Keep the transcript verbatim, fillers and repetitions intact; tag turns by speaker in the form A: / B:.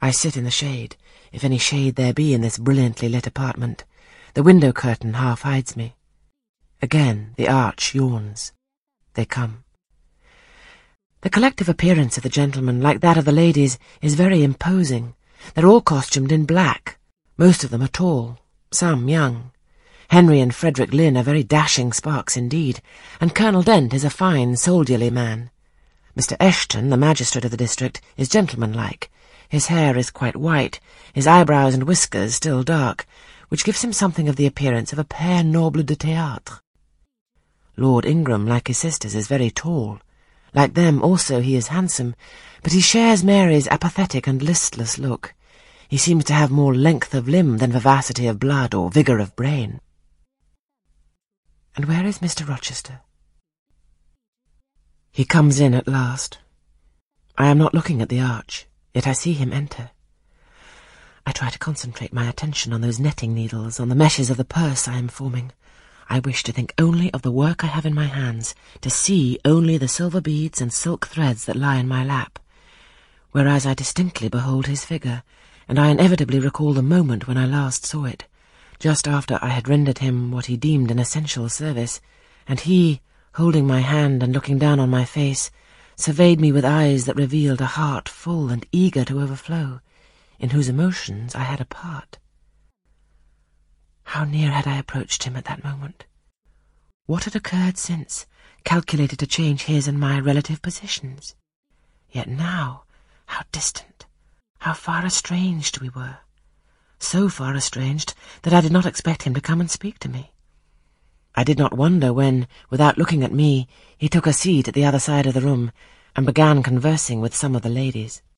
A: I sit in the shade, if any shade there be in this brilliantly lit apartment. The window curtain half hides me. Again the arch yawns. They come. The collective appearance of the gentlemen, like that of the ladies, is very imposing. They're all costumed in black. Most of them are tall, some young. Henry and Frederick Lynn are very dashing sparks indeed, and Colonel Dent is a fine, soldierly man. Mister Eshton, the magistrate of the district, is gentlemanlike. His hair is quite white, his eyebrows and whiskers still dark, which gives him something of the appearance of a père noble de théâtre. Lord Ingram, like his sisters, is very tall. Like them also he is handsome, but he shares Mary's apathetic and listless look. He seems to have more length of limb than vivacity of blood or vigour of brain. And where is Mister Rochester? He comes in at last. I am not looking at the arch, yet I see him enter. I try to concentrate my attention on those netting needles, on the meshes of the purse I am forming. I wish to think only of the work I have in my hands, to see only the silver beads and silk threads that lie in my lap, whereas I distinctly behold his figure, and I inevitably recall the moment when I last saw it, just after I had rendered him what he deemed an essential service, and he, holding my hand and looking down on my face, surveyed me with eyes that revealed a heart full and eager to overflow, in whose emotions I had a part. How near had I approached him at that moment? What had occurred since, calculated to change his and my relative positions? Yet now, how distant, how far estranged we were. So far estranged that I did not expect him to come and speak to me. I did not wonder when, without looking at me, he took a seat at the other side of the room and began conversing with some of the ladies.